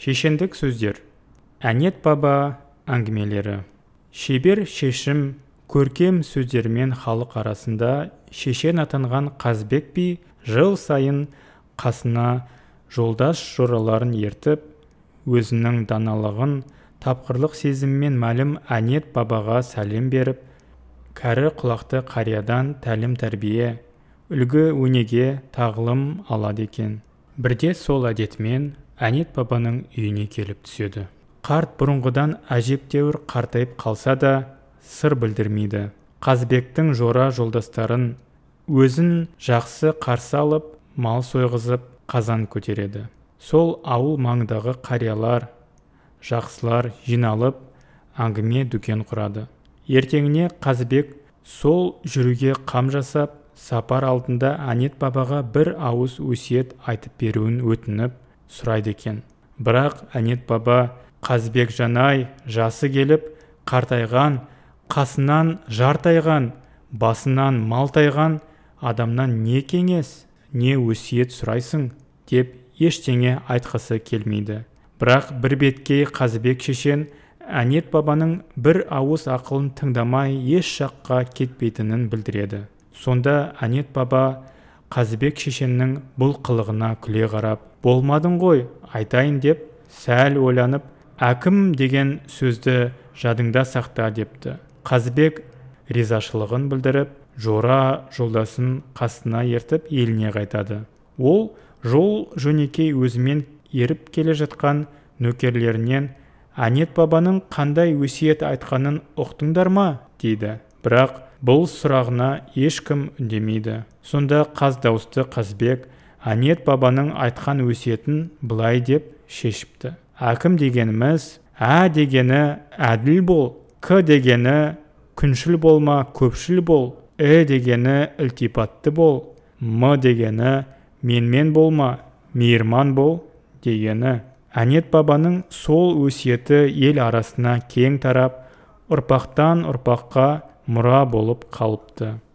Шешендік сөздер. Әнет баба әңгімелері. Шебер шешім көркем сөздермен халық арасында шешен атанған Қазбек би жыл сайын қасына жолдас жораларын ертіп, өзінің даналығын, тапқырлық сезіммен мәлім Әнет бабаға сәлем беріп, кәрі құлақты қариядан тәлім-тәрбие, үлгі өнеге тағылым алады екен. Бірде сол әдетімен Әнет бабаның үйіне келіп түседі. Қарт бұрынғыдан әжептәуір қартайып қалса да, сыр білдірмейді. Қазбектің жора жолдастарын өзін жақсы қарсы алып, мал сойғызып, қазан көтереді. Сол ауыл маңдағы қариялар, жақсылар жиналып, әңгіме дүкен құрады. Ертеңіне Қазбек сол жүруге қам жасап, сапар алдында Әнет бабаға бір ауыз өсиет айтып беруін өтініп сұрайды екен. Бірақ Әнет баба: Қазбек жанай, жасы келіп, қартайған, қасынан жар тайған, басынан мал тайған адамнан не кеңес, не өсиет сұрайсың, деп ештеңе айтқысы келмейді. Бірақ бір беткей Қазбек шешен Әнет бабаның бір ауыз ақылын тыңдамай еш жаққа кетпейтінін білдіреді. Сонда Әнет баба Қазбек шешеннің бұл қылығына күле қарап: болмадың ғой, айтайын деп, сәл ойланып, әкім деген сөзді жадыңда сақта депті. Қазбек ризашылығын білдіріп, жора жолдасын қасына ертіп еліне қайтады. Ол жол жөнекей өзімен еріп келе жатқан нөкерлерінен: Әнет бабаның қандай өсиет айтқанын ұқтыңдар ма? дейді. Бірақ бұл сұрағына ешкім үндемейді. Сонда қаз дауысты Қазбек Әнет бабаның айтқан өсиетін былай деп шешіпті: әкім дегеніміз, ә дегені әділ бол, к дегені күншіл болма, көпшіл бол, дегені ілтипатты бол, м дегені менмен болма, мейірман бол дегені. Әнет бабаның сол өсиеті ел арасына кең тарап, ұрпақтан ұрпаққа мұра болып қалыпты.